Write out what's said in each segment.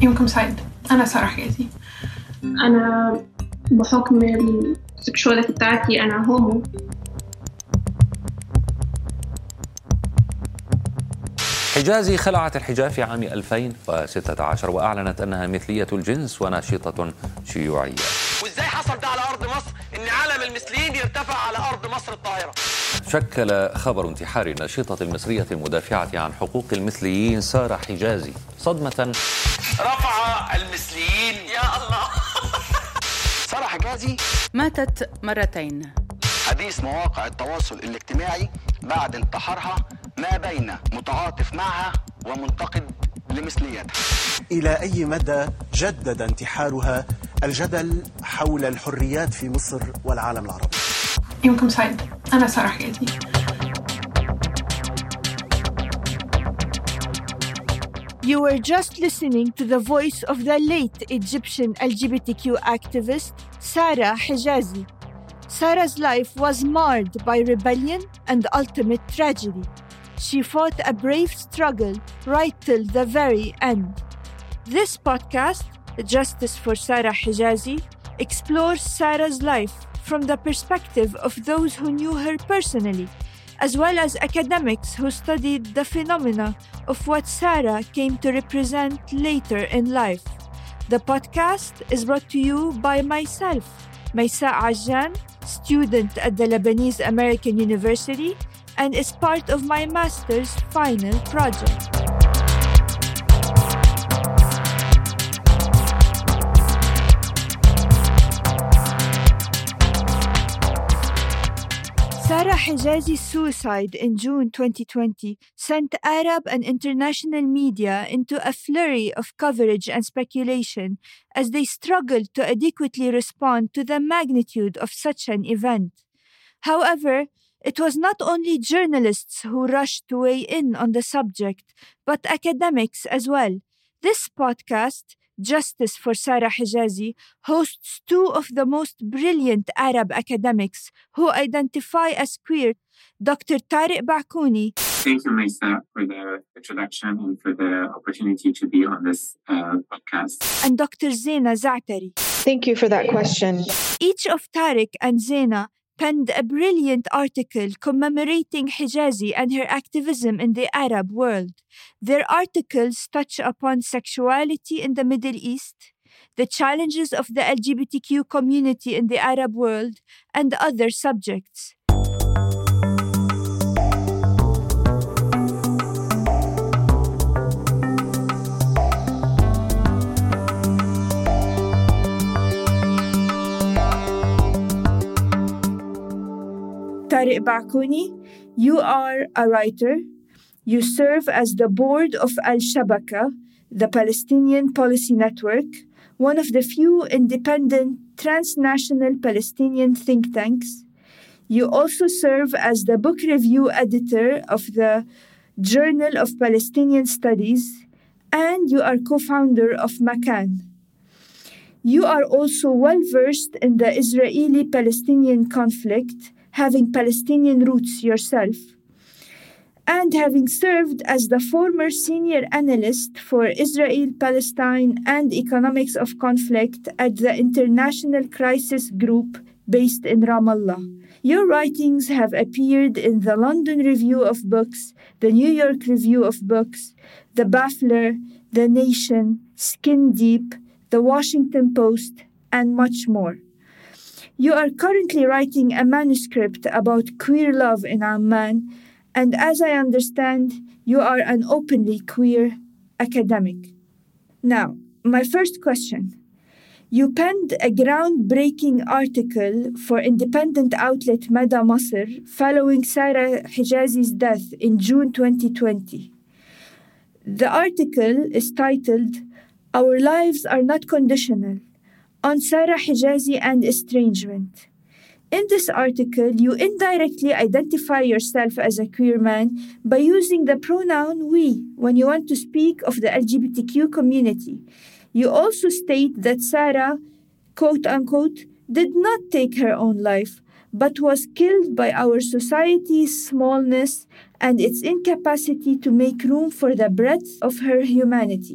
يومكم سعيد. أنا سارة حجازي. أنا بحكم السكشواليتي بتاعتي أنا هومو. حجازي خلعت الحجاب في عام 2016 وأعلنت أنها مثلية الجنس وناشطة شيوعية. وإزاي حصل ده على أرض مصر إن علم المثليين يرتفع على أرض مصر الطاهرة؟ شكل خبر انتحار الناشطة المصرية المدافعة عن حقوق المثليين سارة حجازي صدمة رفع المثليين يا الله. سارة حجازي ماتت مرتين. حديث مواقع التواصل الاجتماعي بعد انتحارها ما بين متعاطف معها ومنتقد لمثليتها. إلى أي مدى جدد انتحارها الجدل حول الحريات في مصر والعالم العربي؟ يومكم سعيد. أنا سارة حجازي. You were just listening to the voice of the late Egyptian LGBTQ activist, Sarah Hijazi. Sarah's life was marred by rebellion and ultimate tragedy. She fought a brave struggle right till the very end. This podcast, Justice for Sarah Hijazi, explores Sarah's life from the perspective of those who knew her personally, as well as academics who studied the phenomena of what Sarah came to represent later in life. The podcast is brought to you by myself, Maysa Ajjan, student at the Lebanese American University, and is part of my master's final project. Sarah Hijazi's suicide in June 2020 sent Arab and international media into a flurry of coverage and speculation as they struggled to adequately respond to the magnitude of such an event. However, it was not only journalists who rushed to weigh in on the subject, but academics as well. This podcast, Justice for Sarah Hijazi, hosts two of the most brilliant Arab academics who identify as queer, Dr. Tariq Bakouni. Thank you, Maysa, for the introduction and for the opportunity to be on this podcast. And Dr. Zeina Zaatari. Thank you for that question. Each of Tariq and Zeina penned a brilliant article commemorating Hijazi and her activism in the Arab world. Their articles touch upon sexuality in the Middle East, the challenges of the LGBTQ community in the Arab world, and other subjects. Tariq Bakouni, you are a writer. You serve as the board of Al-Shabaka, the Palestinian Policy Network, one of the few independent transnational Palestinian think tanks. You also serve as the book review editor of the Journal of Palestinian Studies, and you are co-founder of Makan. You are also well-versed in the Israeli-Palestinian conflict, having Palestinian roots yourself, and having served as the former senior analyst for Israel, Palestine, and economics of conflict at the International Crisis Group based in Ramallah. Your writings have appeared in the London Review of Books, the New York Review of Books, the Baffler, the Nation, Skin Deep, the Washington Post, and much more. You are currently writing a manuscript about queer love in Amman, and as I understand, you are an openly queer academic. Now, my first question. You penned a groundbreaking article for independent outlet Mada Masr following Sarah Hijazi's death in June 2020. The article is titled, "Our Lives Are Not Conditional," on Sarah Hijazi and estrangement. In this article, you indirectly identify yourself as a queer man by using the pronoun we when you want to speak of the LGBTQ community. You also state that Sarah, quote unquote, did not take her own life, but was killed by our society's smallness and its incapacity to make room for the breadth of her humanity.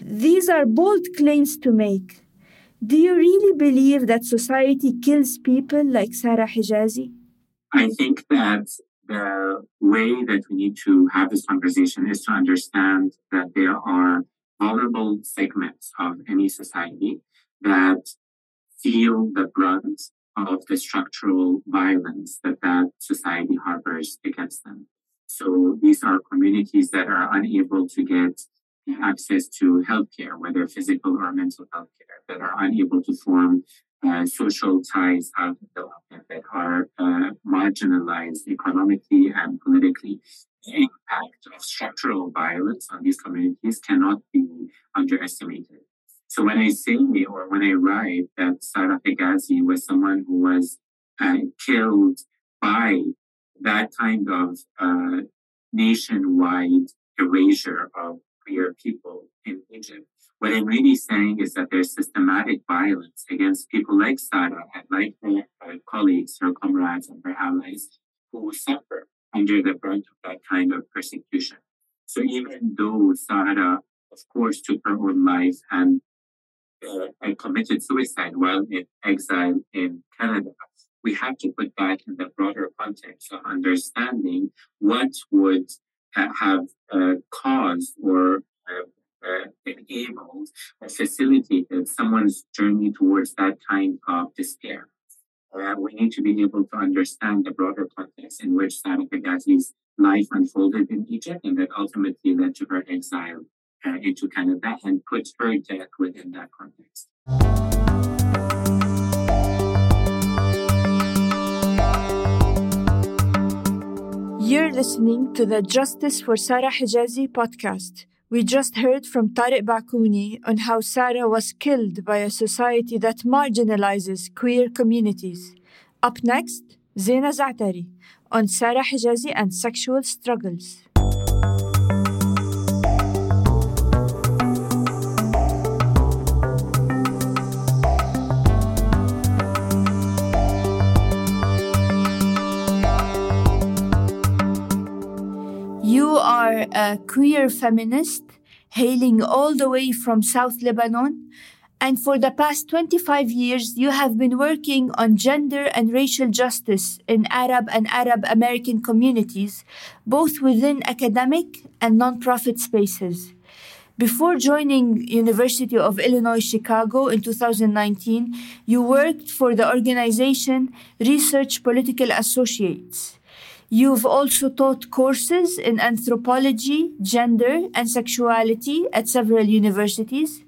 These are bold claims to make. Do you really believe that society kills people like Sarah Hijazi? I think that the way that we need to have this conversation is to understand that there are vulnerable segments of any society that feel the brunt of the structural violence that society harbors against them. So these are communities that are unable to get access to healthcare, whether physical or mental healthcare, that are unable to form social ties out of development, that are marginalized economically and politically. The impact of structural violence on these communities cannot be underestimated. So when I say or when I write that Sarah Hijazi was someone who was killed by that kind of nationwide erasure of queer people in Egypt, what I'm really saying is that there's systematic violence against people like Sarah and like her colleagues, her comrades, and her allies who suffer under the brunt of that kind of persecution. So even though Sarah, of course, took her own life and committed suicide while in exile in Canada, we have to put that in the broader context of understanding what would have caused or enabled or facilitated someone's journey towards that kind of despair. We need to be able to understand the broader context in which Sarah Hijazi's life unfolded in Egypt and that ultimately led to her exile into Canada and put her death within that context. You're listening to the Justice for Sarah Hijazi podcast. We just heard from Tariq Bakouni on how Sarah was killed by a society that marginalizes queer communities. Up next, Zeina Zaatari on Sarah Hijazi and sexual struggles. You are a queer feminist hailing all the way from South Lebanon, and for the past 25 years you have been working on gender and racial justice in Arab and Arab American communities, both within academic and nonprofit spaces. Before joining University of Illinois Chicago in 2019, you worked for the organization Research Political Associates. You've also taught courses in anthropology, gender, and sexuality at several universities.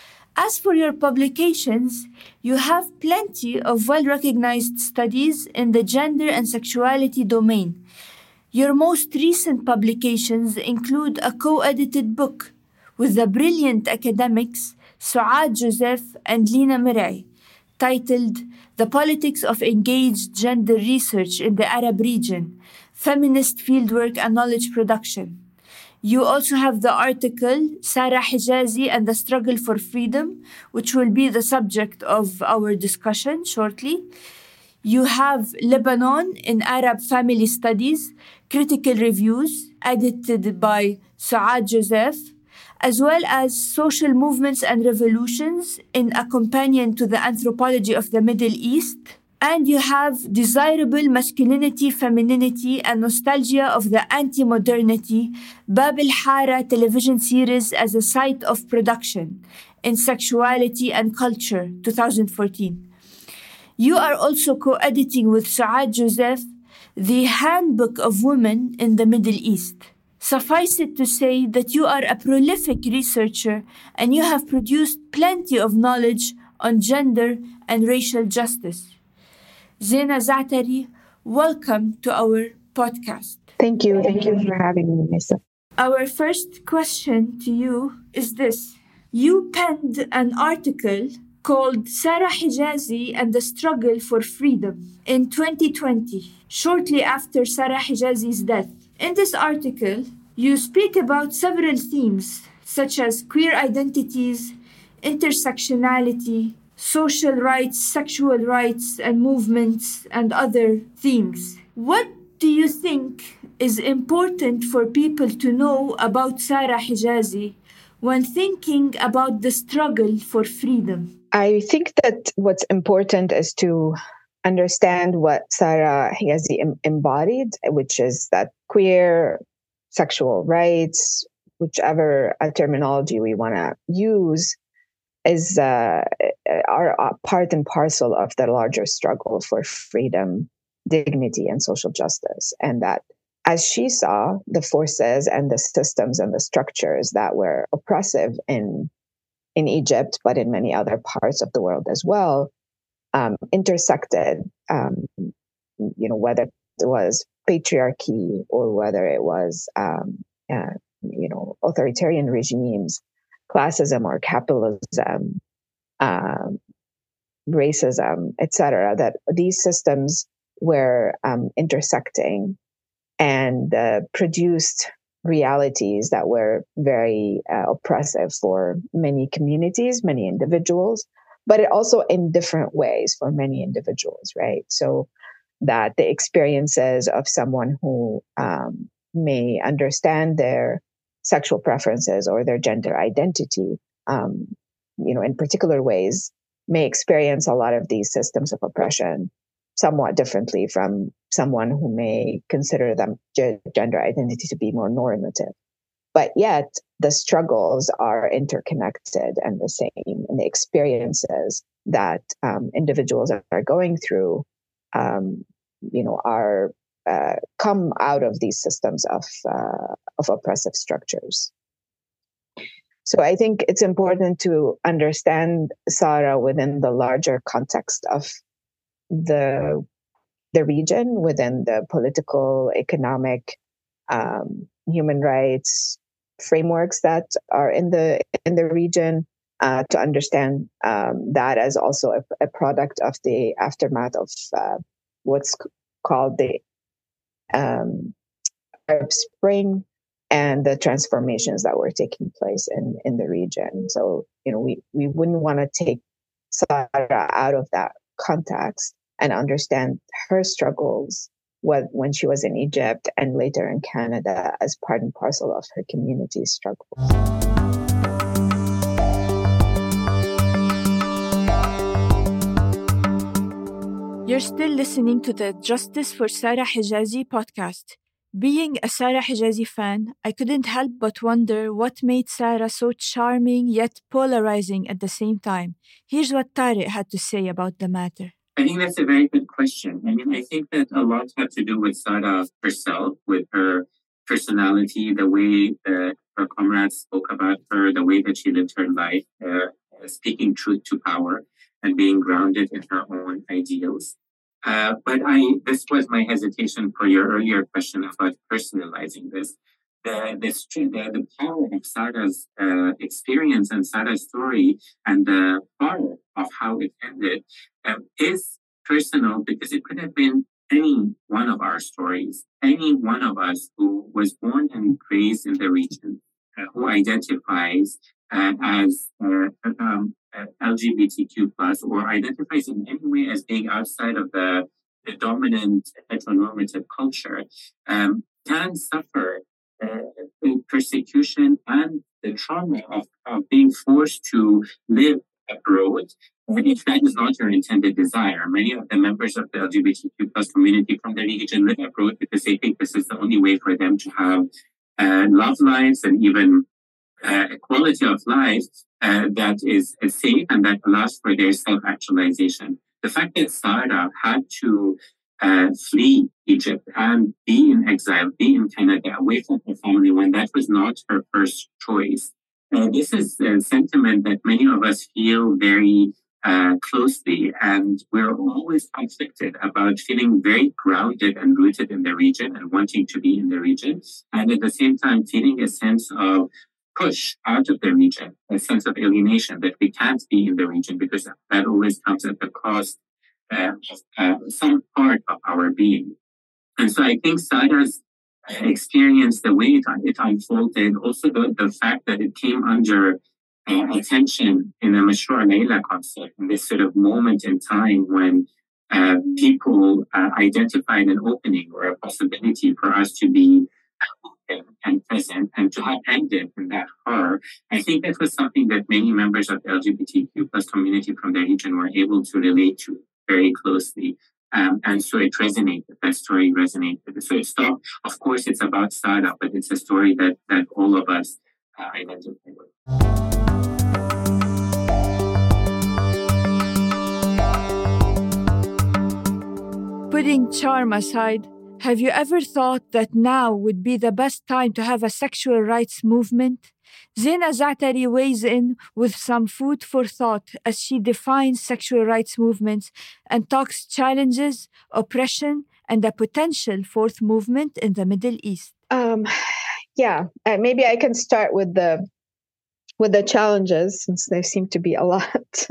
As for your publications, you have plenty of well-recognized studies in the gender and sexuality domain. Your most recent publications include a co-edited book with the brilliant academics Suad Joseph and Lina Mirai, titled The Politics of Engaged Gender Research in the Arab Region, Feminist Fieldwork and Knowledge Production. You also have the article Sarah Hijazi and the Struggle for Freedom, which will be the subject of our discussion shortly. You have Lebanon in Arab Family Studies, Critical Reviews, edited by Suad Joseph, as well as Social Movements and Revolutions in a companion to the Anthropology of the Middle East. And you have Desirable Masculinity, Femininity, and Nostalgia of the Anti-Modernity, Bab al-Hara television series as a site of production in Sexuality and Culture, 2014. You are also co-editing with Suad Joseph the Handbook of Women in the Middle East. Suffice it to say that you are a prolific researcher and you have produced plenty of knowledge on gender and racial justice. Zeina Zaatari, welcome to our podcast. Thank you. Thank you for having me, Nisa. Our first question to you is this. You penned an article called Sarah Hijazi and the Struggle for Freedom in 2020, shortly after Sarah Hijazi's death. In this article, you speak about several themes such as queer identities, intersectionality, social rights, sexual rights and movements, and other themes. What do you think is important for people to know about Sarah Hijazi when thinking about the struggle for freedom? I think that what's important is to understand what Sara Hijazi embodied, which is that queer sexual rights, whichever terminology we want to use, is are part and parcel of the larger struggle for freedom, dignity, and social justice. And that, as she saw, the forces and the systems and the structures that were oppressive in Egypt, but in many other parts of the world as well, intersected, whether it was patriarchy or whether it was, authoritarian regimes, classism or capitalism, racism, etc., that these systems were intersecting and produced realities that were very oppressive for many communities, many individuals, but it also in different ways for many individuals, right? So that the experiences of someone who may understand their sexual preferences or their gender identity, in particular ways, may experience a lot of these systems of oppression somewhat differently from someone who may consider them gender identity to be more normative. But yet the struggles are interconnected and the same, and the experiences that individuals are going through, are come out of these systems of oppressive structures. So I think it's important to understand Sara within the larger context of the region, within the political, economic, human rights frameworks that are in the region, to understand that as also a product of the aftermath of what's called the Arab Spring and the transformations that were taking place in the region. So, we wouldn't want to take Sara out of that context and understand her struggles when she was in Egypt and later in Canada as part and parcel of her community's struggle. You're still listening to the Justice for Sara Hijazi podcast. Being a Sara Hijazi fan, I couldn't help but wonder what made Sara so charming yet polarizing at the same time. Here's what Tariq had to say about the matter. I think that's a very good question. I think that a lot had to do with Sara herself, with her personality, the way that her comrades spoke about her, the way that she lived her life, speaking truth to power and being grounded in her own ideals. But this was my hesitation for your earlier question about personalizing this. The power of Sara's experience and Sara's story and the power of how it ended is personal, because it could have been any one of our stories, any one of us who was born and raised in the region, who identifies as LGBTQ+, or identifies in any way as being outside of the dominant heteronormative culture, can suffer persecution and the trauma of being forced to live abroad if that is not your intended desire. Many of the members of the LGBTQ+ community from the region live abroad because they think this is the only way for them to have love lives and even a quality of life that is safe and that allows for their self-actualization. The fact that Sara had to flee Egypt and be in exile, be in Canada, away from her family when that was not her first choice. This is a sentiment that many of us feel very closely, and we're always conflicted about feeling very grounded and rooted in the region and wanting to be in the region, and at the same time feeling a sense of push out of the region, a sense of alienation that we can't be in the region because that always comes at the cost of some part of our being. And so I think Sara's experience, the way it unfolded, also the fact that it came under attention in the Mashrou' Layla concept, in this sort of moment in time when people identified an opening or a possibility for us to be and present, and to have ended in that horror, I think that was something that many members of the LGBTQ plus community from the region were able to relate to very closely. And so it resonated, that story resonated. So it's not, of course, it's about startup, but it's a story that all of us identify with. Putting charm aside, have you ever thought that now would be the best time to have a sexual rights movement? Zina Zaatari weighs in with some food for thought as she defines sexual rights movements and talks challenges, oppression, and a potential fourth movement in the Middle East. Maybe I can start with the challenges, since there seem to be a lot.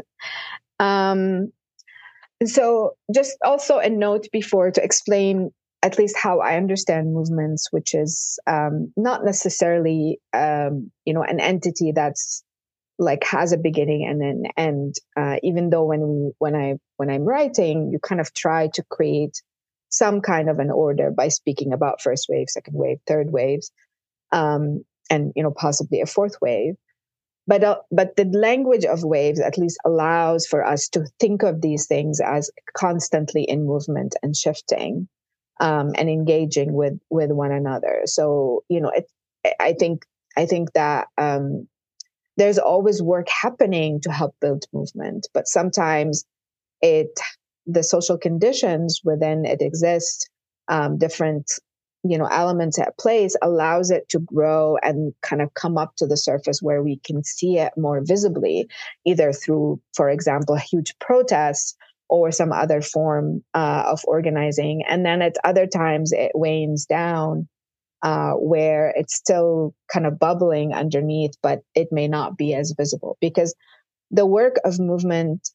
So just also a note before to explain at least how I understand movements, which is not necessarily, an entity that's like has a beginning and an end. Even though when I'm writing, you kind of try to create some kind of an order by speaking about first wave, second wave, third waves, and possibly a fourth wave. But the language of waves at least allows for us to think of these things as constantly in movement and shifting, and engaging with one another. So I think that there's always work happening to help build movement, but sometimes the social conditions within it exist, different elements at place allows it to grow and kind of come up to the surface where we can see it more visibly, either through, for example, huge protests or some other form of organizing. And then at other times it wanes down, where it's still kind of bubbling underneath, but it may not be as visible, because the work of movement,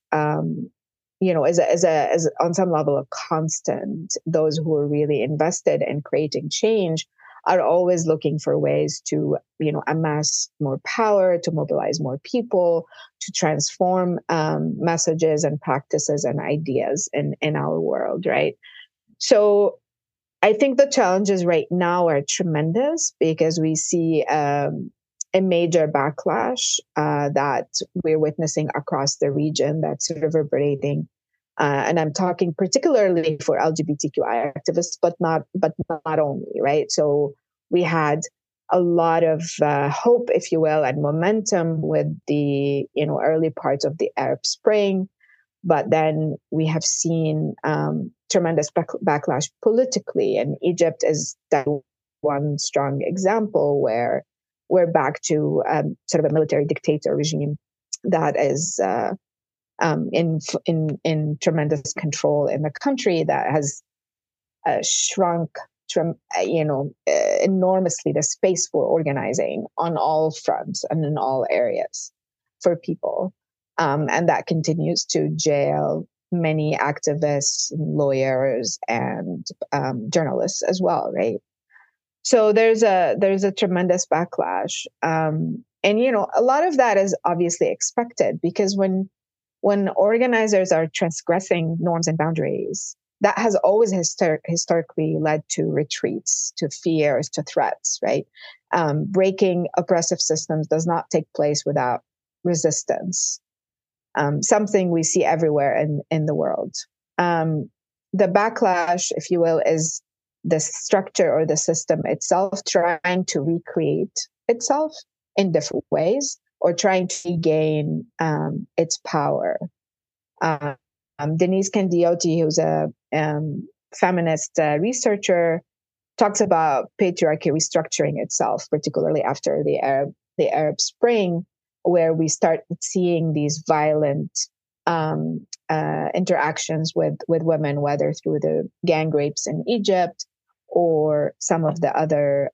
is on some level a constant. Those who are really invested in creating change are always looking for ways to, amass more power, to mobilize more people, to transform messages and practices and ideas in our world, right? So I think the challenges right now are tremendous, because we see a major backlash that we're witnessing across the region that's reverberating. And I'm talking particularly for LGBTQI activists, but not only, right? So we had a lot of hope, if you will, and momentum with the early parts of the Arab Spring, but then we have seen tremendous backlash politically, and Egypt is that one strong example where we're back to sort of a military dictator regime that is in tremendous control in the country, that has shrunk enormously the space for organizing on all fronts and in all areas for people, and that continues to jail many activists, lawyers, and journalists as well, right? So there's a tremendous backlash, and a lot of that is obviously expected, because when organizers are transgressing norms and boundaries, that has always historically led to retreats, to fears, to threats, right? Breaking oppressive systems does not take place without resistance, something we see everywhere in the world. The backlash, if you will, is the structure or the system itself trying to recreate itself in different ways, or trying to regain its power. Denise Candioti, who's a feminist researcher, talks about patriarchy restructuring itself, particularly after the Arab Spring, where we start seeing these violent interactions with women, whether through the gang rapes in Egypt or some of the other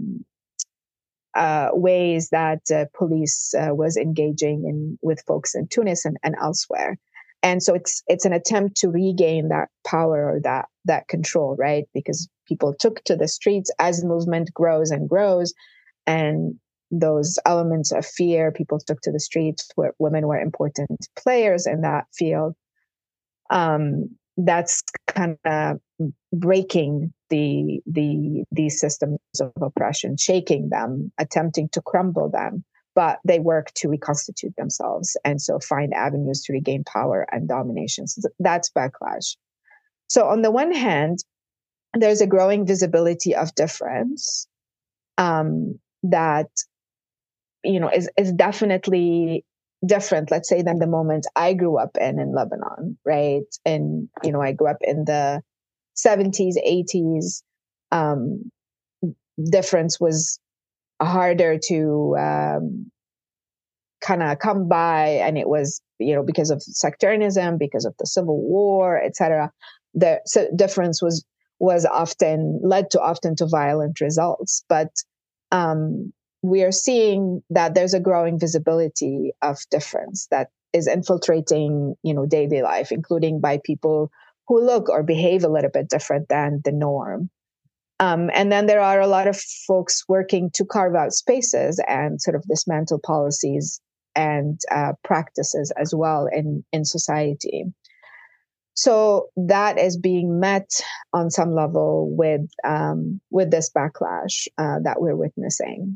ways that police was engaging with folks in Tunis and elsewhere. And so it's an attempt to regain that power or that control, right? Because people took to the streets as the movement grows and grows, and those elements of fear, people took to the streets where women were important players in that field. that's kind of breaking these systems of oppression, shaking them, attempting to crumble them. But they work to reconstitute themselves and so find avenues to regain power and domination. So that's backlash. So on the one hand, there's a growing visibility of difference that, is definitely different, let's say, than the moment I grew up in Lebanon, right? And, I grew up in the 70s, 80s. Difference was harder to kind of come by, and it was, because of sectarianism, because of the civil war, etc. So difference was often led to violent results. But we are seeing that there's a growing visibility of difference that is infiltrating, daily life, including by people who look or behave a little bit different than the norm. And then there are a lot of folks working to carve out spaces and sort of dismantle policies and practices as well in society. So that is being met on some level with this backlash that we're witnessing.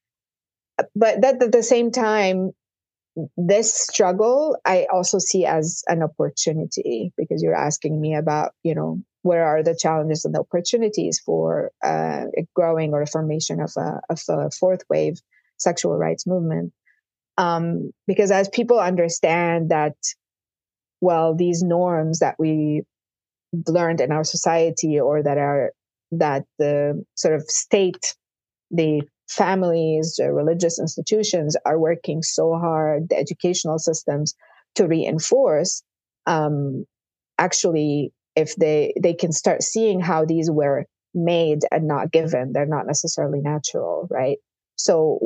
But that at the same time, this struggle I also see as an opportunity, because you're asking me about, where are the challenges and the opportunities for a growing or a formation of a fourth wave sexual rights movement. Because as people understand that, well, these norms that we learned in our society, or that the sort of state, the families, the religious institutions are working so hard, the educational systems to reinforce, actually, if they can start seeing how these were made and not given, they're not necessarily natural, right? So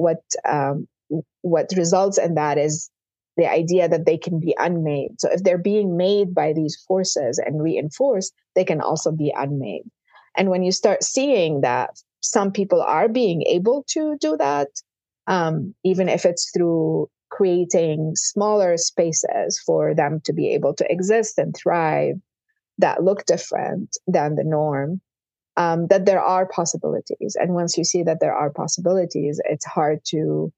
what results in that is the idea that they can be unmade. So if they're being made by these forces and reinforced, they can also be unmade. And when you start seeing that some people are being able to do that, even if it's through creating smaller spaces for them to be able to exist and thrive that look different than the norm, that there are possibilities. And once you see that there are possibilities, it's hard to,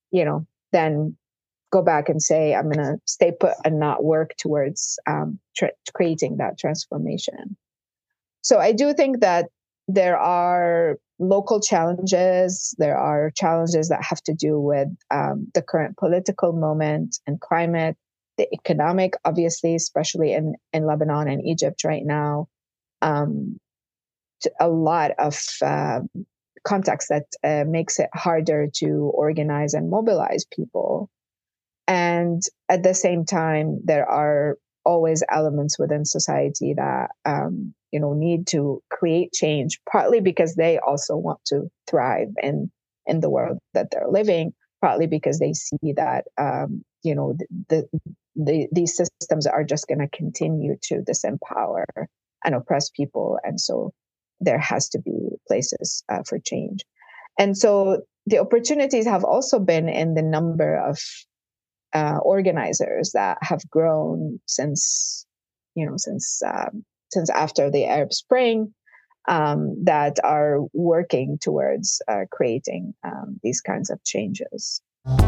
then go back and say, I'm going to stay put and not work towards creating that transformation. So I do think that there are local challenges. There are challenges that have to do with the current political moment and climate, the economic, obviously, especially in Lebanon and Egypt right now. A lot of context that makes it harder to organize and mobilize people. And at the same time, there are always elements within society that need to create change, partly because they also want to thrive in the world that they're living, partly because they see that these systems are just going to continue to disempower and oppress people, and so there has to be places for change. And so the opportunities have also been in the number of organizers that have grown since after the Arab Spring, that are working towards creating these kinds of changes.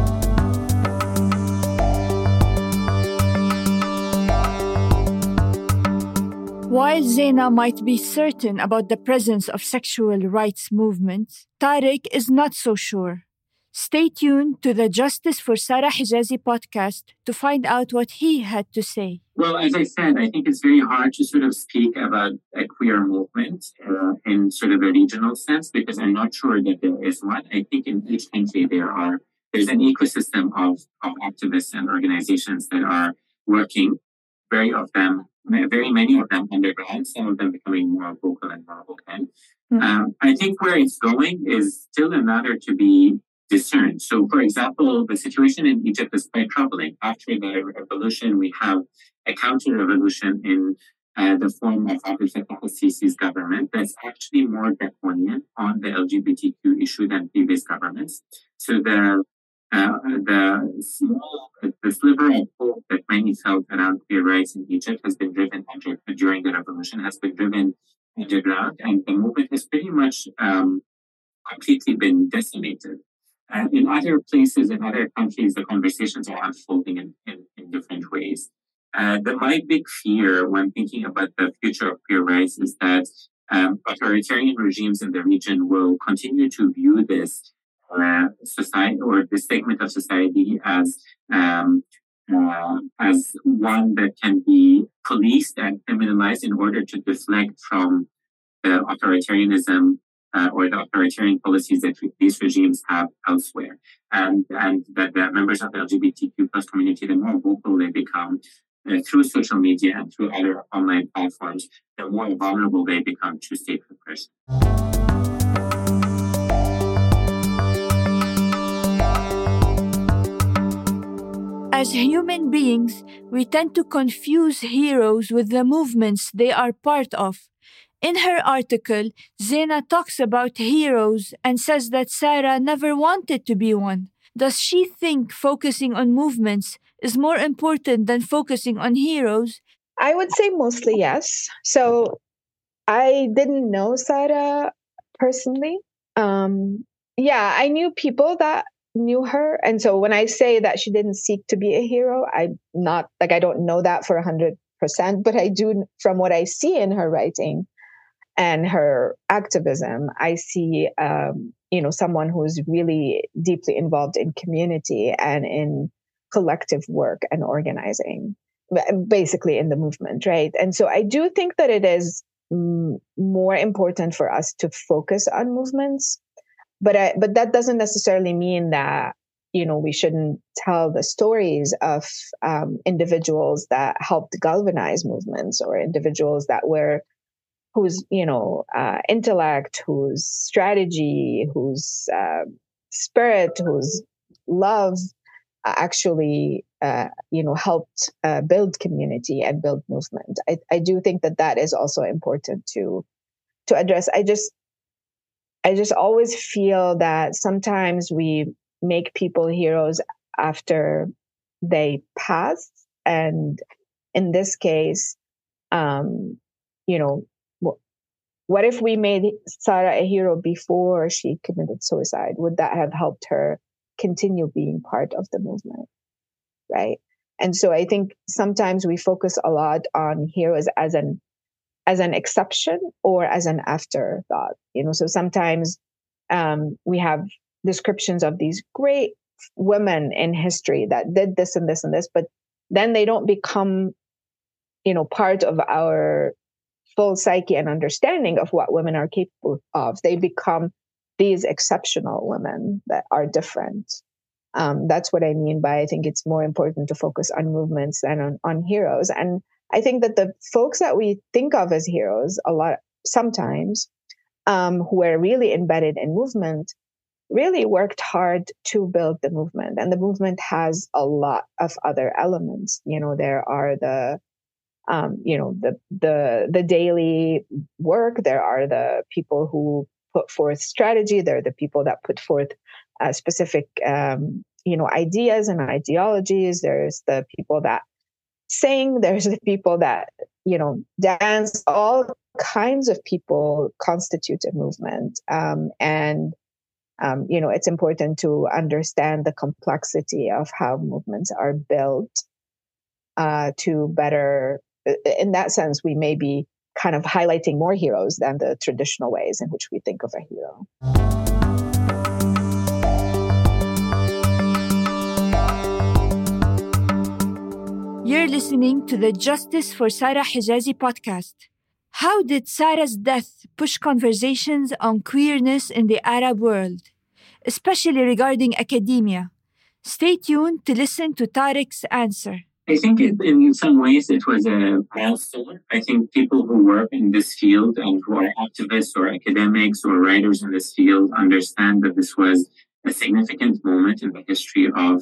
While Zeina might be certain about the presence of sexual rights movements, Tariq is not so sure. Stay tuned to the Justice for Sarah Hijazi podcast to find out what he had to say. Well, as I said, I think it's very hard to sort of speak about a queer movement in sort of a regional sense, because I'm not sure that there is one. I think in each country there's an ecosystem of activists and organizations that are working, very many of them underground, some of them becoming more vocal and more vocal. I think where it's going is still a matter to be discerned. So, for example, the situation in Egypt is quite troubling. After the revolution, we have a counter-revolution in the form of Abdel Fattah al-Sisi's government that's actually more draconian on the LGBTQ issue than previous governments. So the the sliver of hope that many felt around queer rights in Egypt has been driven during the revolution, has been driven underground, and the movement has pretty much completely been decimated. In other places, in other countries, the conversations are unfolding in different ways. My big fear when thinking about the future of queer rights is that authoritarian regimes in the region will continue to view this society or this segment of society as one that can be policed and criminalized in order to deflect from the authoritarianism or the authoritarian policies that these regimes have elsewhere, and that the members of the LGBTQ plus community, the more vocal they become through social media and through other online platforms, the more vulnerable they become to state repression. As human beings, we tend to confuse heroes with the movements they are part of. In her article, Zena talks about heroes and says that Sarah never wanted to be one. Does she think focusing on movements is more important than focusing on heroes? I would say mostly yes. So I didn't know Sarah personally. I knew people that knew her. And so when I say that she didn't seek to be a hero, I don't know that for 100%, but I do, from what I see in her writing and her activism, I see, someone who's really deeply involved in community and in collective work and organizing, basically in the movement, right? And so I do think that it is more important for us to focus on movements, but that doesn't necessarily mean that, we shouldn't tell the stories of individuals that helped galvanize movements, or individuals whose intellect, whose strategy, whose spirit, whose love actually helped build community and build movement. I do think that is also important to address. I just always feel that sometimes we make people heroes after they pass, and in this case, what if we made Sarah a hero before she committed suicide? Would that have helped her continue being part of the movement, right? And so I think sometimes we focus a lot on heroes as an exception or as an afterthought. So sometimes we have descriptions of these great women in history that did this and this and this, but then they don't become, part of our full psyche and understanding of what women are capable of. They become these exceptional women that are different. That's what I mean by I think it's more important to focus on movements than on heroes. And I think that the folks that we think of as heroes sometimes who are really embedded in movement really worked hard to build the movement. And the movement has a lot of other elements. There are the daily work. There are the people who put forth strategy. There are the people that put forth specific, ideas and ideologies. There's the people that sing. There's the people that, dance. All kinds of people constitute a movement. It's important to understand the complexity of how movements are built to better. In that sense, we may be kind of highlighting more heroes than the traditional ways in which we think of a hero. You're listening to the Justice for Sarah Hijazi podcast. How did Sarah's death push conversations on queerness in the Arab world, especially regarding academia? Stay tuned to listen to Tariq's answer. I think in some ways it was a milestone. I think people who work in this field and who are activists or academics or writers in this field understand that this was a significant moment in the history of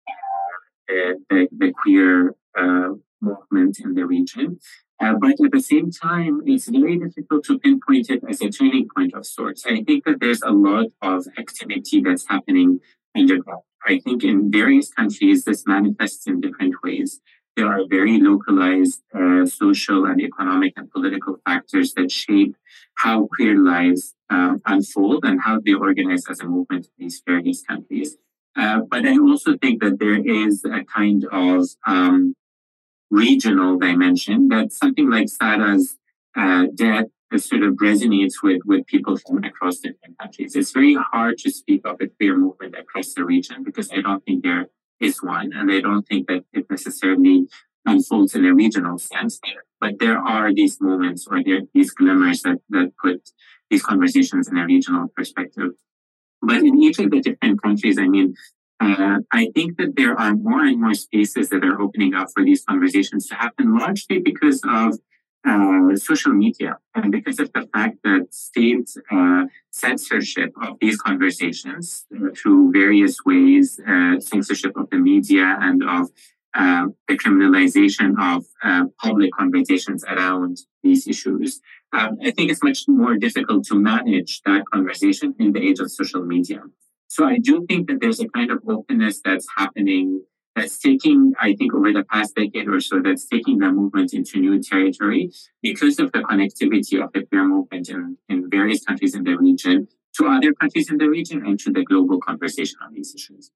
the queer movement in the region. But at the same time, it's very difficult to pinpoint it as a turning point of sorts. I think that there's a lot of activity that's happening underground. I think in various countries, this manifests in different ways. There are very localized social and economic and political factors that shape how queer lives unfold and how they organize as a movement in these various countries. But I also think that there is a kind of regional dimension that something like Sarah's death sort of resonates with people from across different countries. It's very hard to speak of a queer movement across the region because I don't think there is one, and I don't think that it necessarily unfolds in a regional sense. But there are these moments or there are these glimmers that put these conversations in a regional perspective. But in each of the different countries, I mean, I think that there are more and more spaces that are opening up for these conversations to happen, largely because of social media and because of the fact that state censorship of these conversations through various ways, censorship of the media and of the criminalization of public conversations around these issues. I think it's much more difficult to manage that conversation in the age of social media. So I do think that there's a kind of openness that's happening, that's taking, I think, over the past decade or so, that's taking the movement into new territory because of the connectivity of the queer movement in various countries in the region to other countries in the region and to the global conversation on these issues.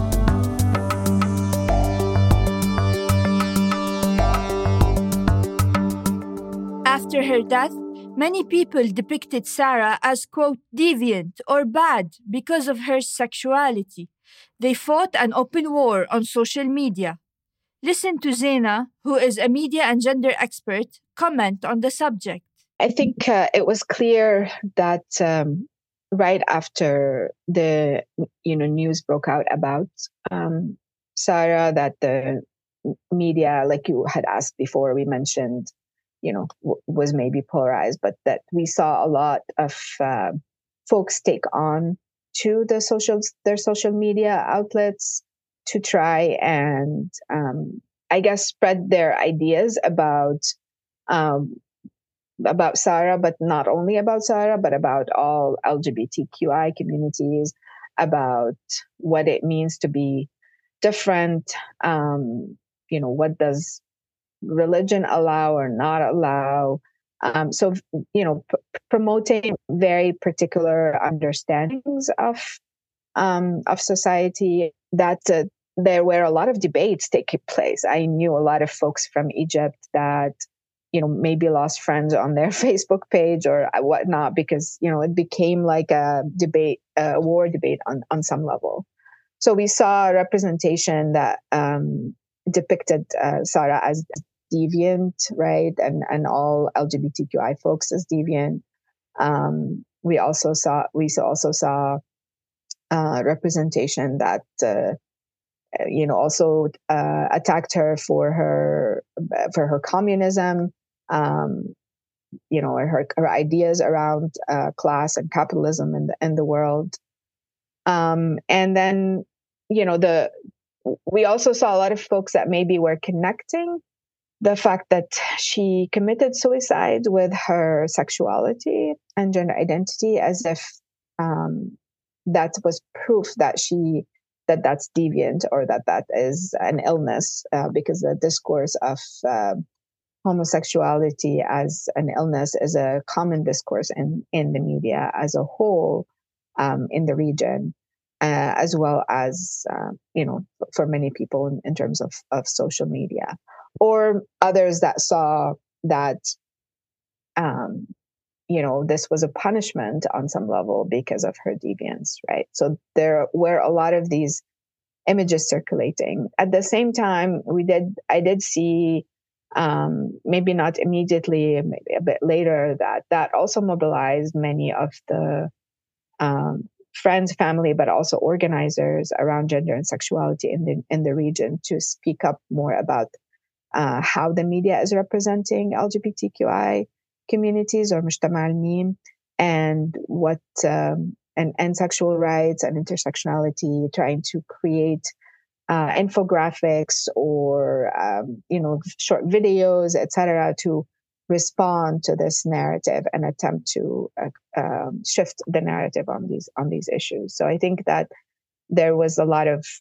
After her death, many people depicted Sarah as, quote, deviant or bad because of her sexuality. They fought an open war on social media. Listen to Zena, who is a media and gender expert, comment on the subject. I think it was clear that right after the news broke out about Sarah, that the media, like you had asked before, we mentioned, was maybe polarized, but that we saw a lot of folks take on to their social media outlets to try and, I guess, spread their ideas about Sarah, but not only about Sarah, but about all LGBTQI communities, about what it means to be different. What does religion allow or not allow? Promoting very particular understandings of society, that there were a lot of debates taking place. I knew a lot of folks from Egypt that, maybe lost friends on their Facebook page or whatnot, because, it became like a debate, a war debate on some level. So we saw a representation that depicted Sarah as deviant, right? And all LGBTQI folks as deviant. We also saw representation that also attacked her for her communism, her ideas around class and capitalism in the world, and then we also saw a lot of folks that maybe were connecting the fact that she committed suicide with her sexuality and gender identity, as if that was proof that that's deviant or that is an illness, because the discourse of homosexuality as an illness is a common discourse in the media as a whole, in the region, as well as for many people in terms of social media, or others that saw that this was a punishment on some level because of her deviance, right? So there were a lot of these images circulating. At the same time, I did see, maybe not immediately, maybe a bit later, that also mobilized many of the friends, family, but also organizers around gender and sexuality in the region to speak up more about how the media is representing LGBTQI communities or mujtama al-mim, and what and sexual rights and intersectionality, trying to create infographics or short videos, etc., to respond to this narrative and attempt to shift the narrative on these issues. So I think that there was a lot of,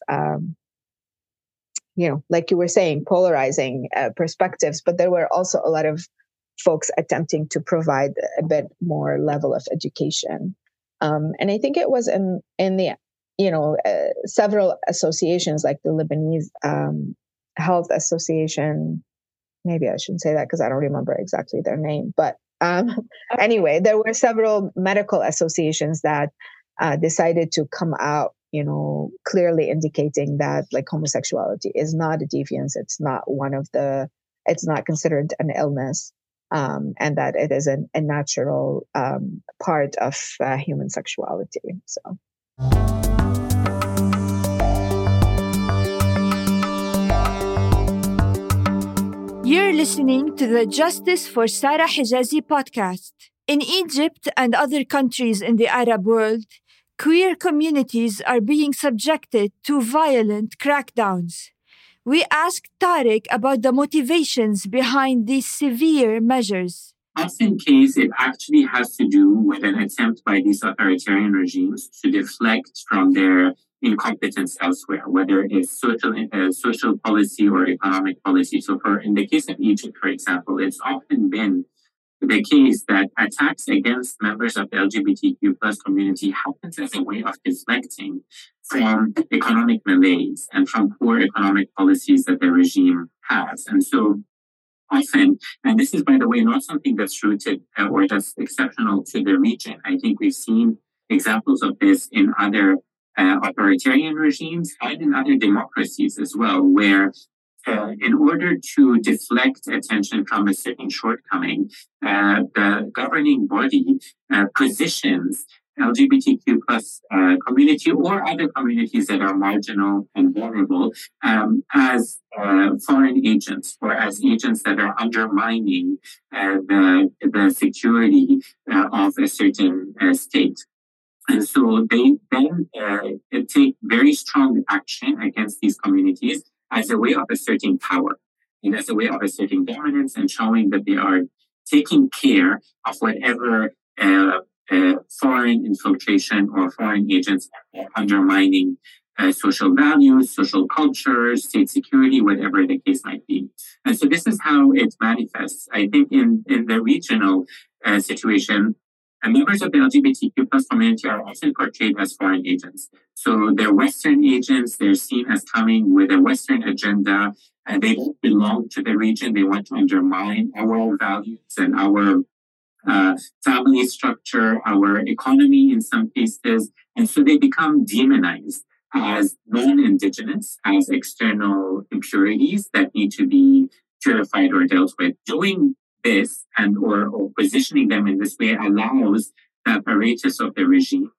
like you were saying, polarizing perspectives, but there were also a lot of folks attempting to provide a bit more level of education. And I think it was in the, several associations like the Lebanese Health Association. Maybe I shouldn't say that because I don't remember exactly their name. But anyway, there were several medical associations that decided to come out, clearly indicating that like homosexuality is not a deviance. It's not it's not considered an illness. And that it is a natural part of human sexuality. So. You're listening to the Justice for Sarah Hijazi podcast. In Egypt and other countries in the Arab world, queer communities are being subjected to violent crackdowns. We asked Tariq about the motivations behind these severe measures. Often case, it actually has to do with an attempt by these authoritarian regimes to deflect from their incompetence elsewhere, whether it's social policy or economic policy. So in the case of Egypt, for example, it's often been the case that attacks against members of the LGBTQ plus community happens as a way of deflecting from economic malaise and from poor economic policies that the regime has. And so often, and this is, by the way, not something that's rooted or that's exceptional to the region. I think we've seen examples of this in other authoritarian regimes and in other democracies as well, where in order to deflect attention from a certain shortcoming, the governing body positions LGBTQ plus community or other communities that are marginal and vulnerable as foreign agents or as agents that are undermining the security of a certain state. And so they then take very strong action against these communities as a way of asserting power and as a way of asserting dominance and showing that they are taking care of whatever foreign infiltration or foreign agents are undermining social values, social culture, state security, whatever the case might be. And so this is how it manifests. I think in the regional situation, members of the LGBTQ plus community are often portrayed as foreign agents. So they're Western agents. They're seen as coming with a Western agenda, and they don't belong to the region. They want to undermine our values and our family structure, our economy in some cases. And so they become demonized as non-indigenous, as external impurities that need to be purified or dealt with. Doing this and or positioning them in this way allows the apparatus of the regime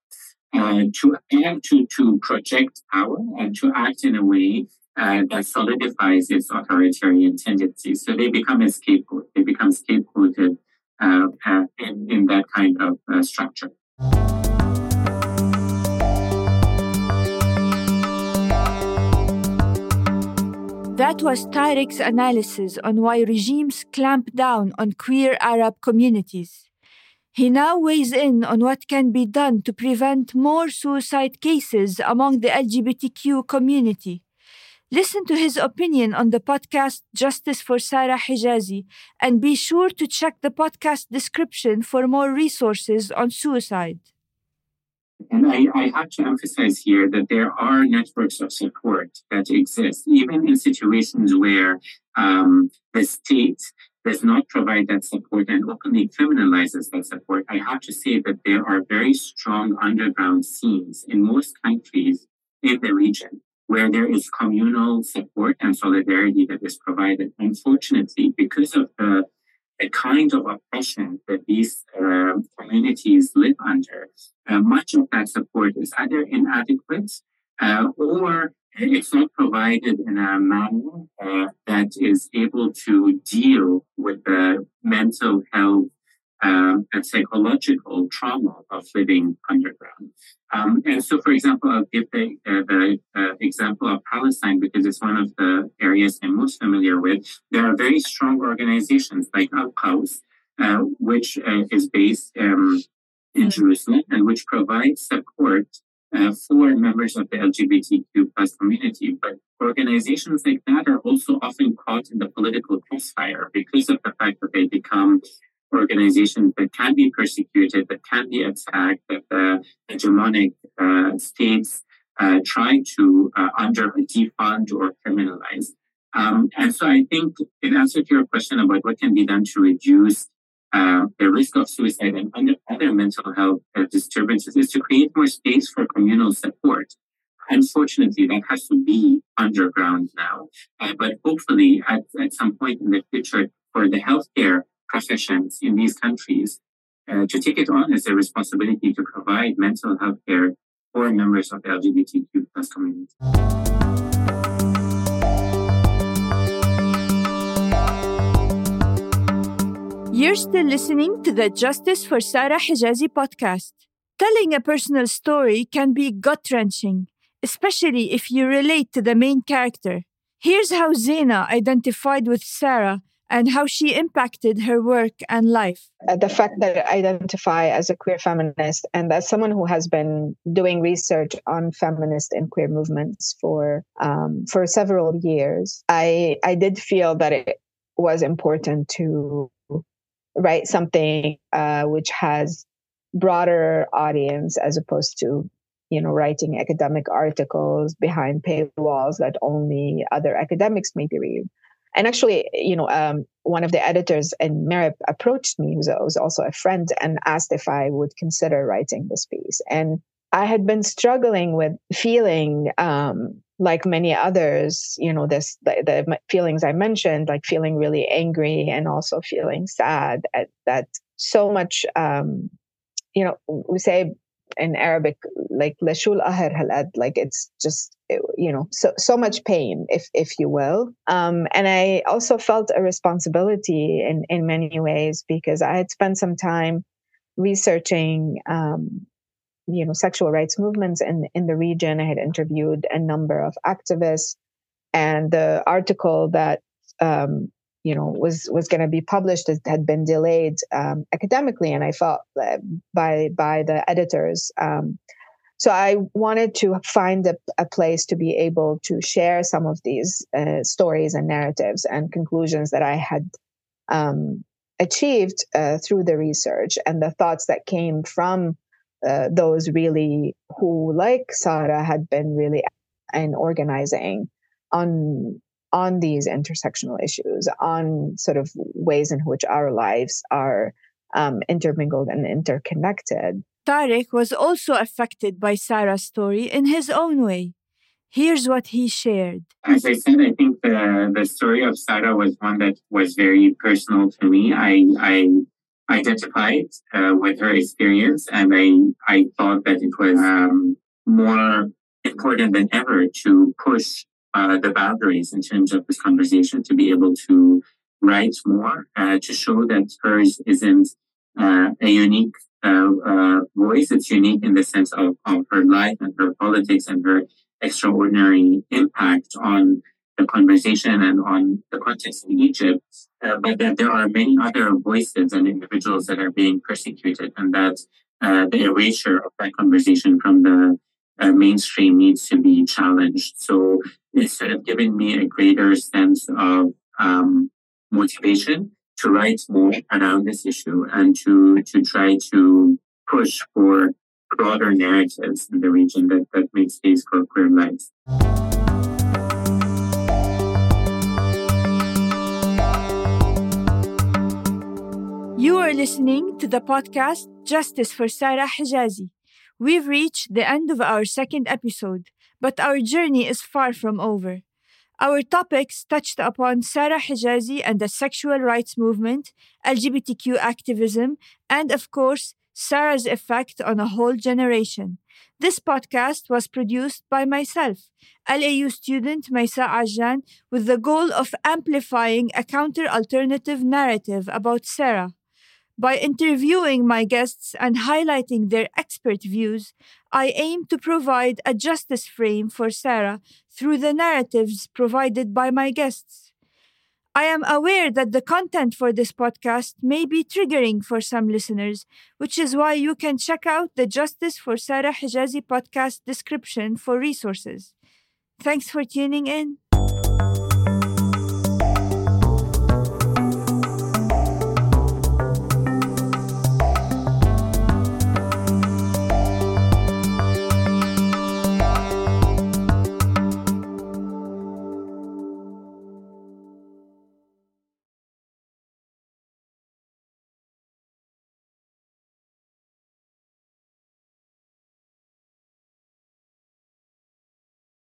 to project power and to act in a way that solidifies its authoritarian tendencies. So they become a scapegoat. They become scapegoated in that kind of structure. That was Tariq's analysis on why regimes clamp down on queer Arab communities. He now weighs in on what can be done to prevent more suicide cases among the LGBTQ community. Listen to his opinion on the podcast Justice for Sarah Hijazi, and be sure to check the podcast description for more resources on suicide. And I have to emphasize here that there are networks of support that exist, even in situations where the state does not provide that support and openly criminalizes that support. I have to say that there are very strong underground scenes in most countries in the region where there is communal support and solidarity that is provided. Unfortunately, because of the kind of oppression that these communities live under, much of that support is either inadequate or it's not provided in a manner that is able to deal with the mental health and psychological trauma of living underground. And so, for example, I'll give the example of Palestine because it's one of the areas I'm most familiar with. There are very strong organizations like Al-Qaws, which is based in Jerusalem and which provides support for members of the LGBTQ plus community. But organizations like that are also often caught in the political crossfire because of the fact that they become organizations that can be persecuted, that can be attacked, that the hegemonic states try to under defund or criminalize. And so I think in answer to your question about what can be done to reduce the risk of suicide and other mental health disturbances is to create more space for communal support. Unfortunately, that has to be underground now. But hopefully, at some point in the future, for the healthcare professions in these countries to take it on as a responsibility to provide mental health care for members of the LGBTQ plus community. You're still listening to the Justice for Sarah Hijazi podcast. Telling a personal story can be gut-wrenching, especially if you relate to the main character. Here's how Zaina identified with Sarah and how she impacted her work and life. The fact that I identify as a queer feminist and as someone who has been doing research on feminist and queer movements for several years, I did feel that it was important to write something which has broader audience as opposed to, writing academic articles behind paywalls that only other academics maybe read. And actually, one of the editors in Merib approached me, who was also a friend, and asked if I would consider writing this piece. And I had been struggling with feeling, like many others, the feelings I mentioned, like feeling really angry and also feeling sad at that so much, we say in Arabic, like lashul ahar halad, like it's just, so much pain, if you will. And I also felt a responsibility in many ways because I had spent some time researching, sexual rights movements in the region. I had interviewed a number of activists, and the article that was going to be published had been delayed academically, and I felt by the editors. So I wanted to find a place to be able to share some of these stories and narratives and conclusions that I had achieved through the research and the thoughts that came from those really who, like Sarah, had been really in organizing on these intersectional issues, on sort of ways in which our lives are intermingled and interconnected. Tariq was also affected by Sarah's story in his own way. Here's what he shared. As I said, I think the story of Sarah was one that was very personal to me. I identified with her experience, and I thought that it was more important than ever to push the boundaries in terms of this conversation, to be able to write more, to show that hers isn't a unique voice. It's unique in the sense of her life and her politics and her extraordinary impact on the conversation and on the context in Egypt, but that there are many other voices and individuals that are being persecuted, and that the erasure of that conversation from the mainstream needs to be challenged. So it's sort of given me a greater sense of motivation to write more around this issue and to try to push for broader narratives in the region that make space for queer lives. You are listening to the podcast Justice for Sarah Hijazi. We've reached the end of our second episode, but our journey is far from over. Our topics touched upon Sarah Hijazi and the sexual rights movement, LGBTQ activism, and of course, Sarah's effect on a whole generation. This podcast was produced by myself, LAU student Maysa Ajjan, with the goal of amplifying a counter-alternative narrative about Sarah. By interviewing my guests and highlighting their expert views, I aim to provide a justice frame for Sarah through the narratives provided by my guests. I am aware that the content for this podcast may be triggering for some listeners, which is why you can check out the Justice for Sarah Hijazi podcast description for resources. Thanks for tuning in.